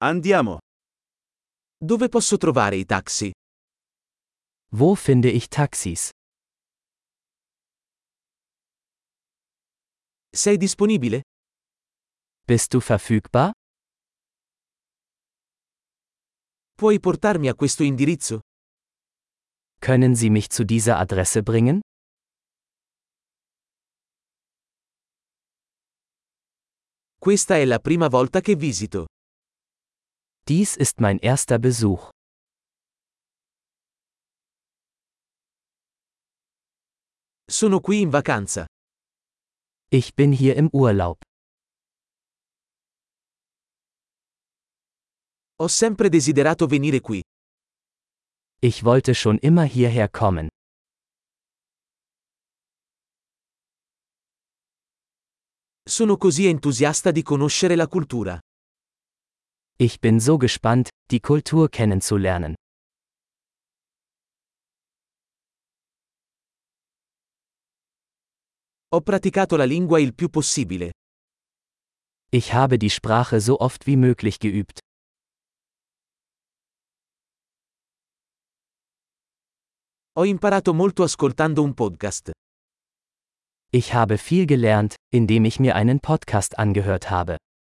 Andiamo. Dove posso trovare i taxi? Wo finde ich Taxis? Sei disponibile? Bist du verfügbar? Puoi portarmi a questo indirizzo? Können Sie mich zu dieser Adresse bringen? Questa è la prima volta che visito. Dies ist mein erster Besuch. Sono qui in vacanza. Ich bin hier im Urlaub. Ho sempre desiderato venire qui. Ich wollte schon immer hierher kommen. Sono così entusiasta di conoscere la cultura. Ich bin so gespannt, die Kultur kennenzulernen. Ho praticato la lingua il più possibile. Ich habe die Sprache so oft wie möglich geübt. Ho imparato molto ascoltando un podcast. Ich habe viel gelernt, indem ich mir einen Podcast angehört habe.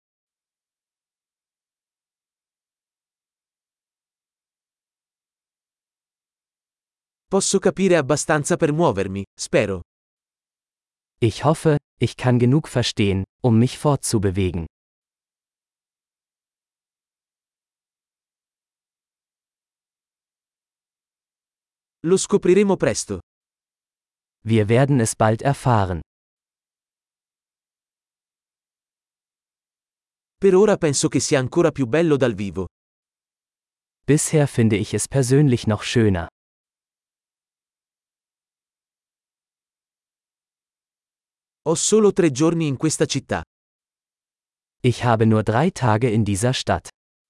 Posso capire abbastanza per muovermi, spero. Ich hoffe, ich kann genug verstehen, um mich fortzubewegen. Lo scopriremo presto. Wir werden es bald erfahren. Per ora penso che sia ancora più bello dal vivo. Bisher finde ich es persönlich noch schöner. Ho solo 3 giorni in questa città. Ich habe nur 3 Tage in dieser Stadt.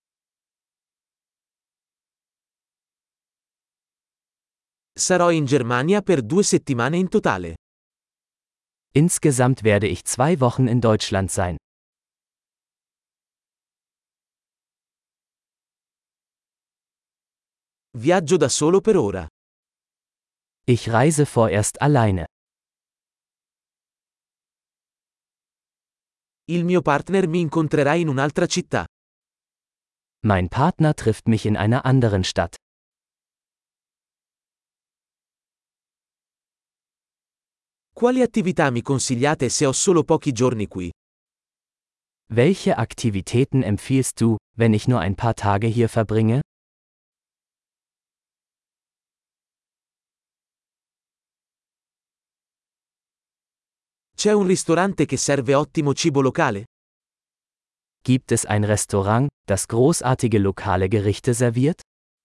Sarò in Germania per 2 settimane in totale. Insgesamt werde ich 2 Wochen in Deutschland sein. Viaggio da solo per ora. Ich reise vorerst alleine. Il mio partner mi incontrerà in un'altra città. Mein Partner trifft mich in einer anderen Stadt. Quali attività mi consigliate se ho solo pochi giorni qui? Welche Aktivitäten empfiehlst du, wenn ich nur ein paar Tage hier verbringe? C'è un ristorante che serve ottimo cibo locale? Gibt es ein Restaurant, das großartige lokale Gerichte serviert?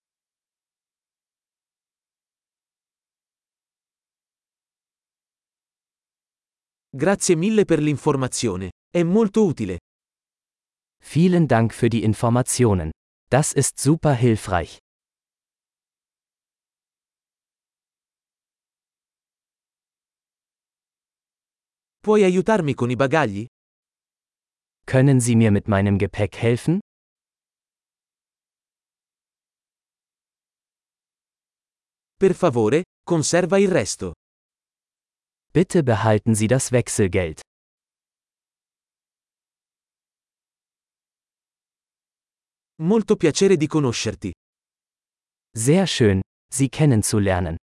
Grazie mille per l'informazione. È molto utile. Vielen Dank für die Informationen. Das ist super hilfreich. Puoi aiutarmi con i bagagli? Können Sie mir mit meinem Gepäck helfen? Per favore, conserva il resto. Bitte behalten Sie das Wechselgeld. Molto piacere di conoscerti. Sehr schön, Sie kennenzulernen.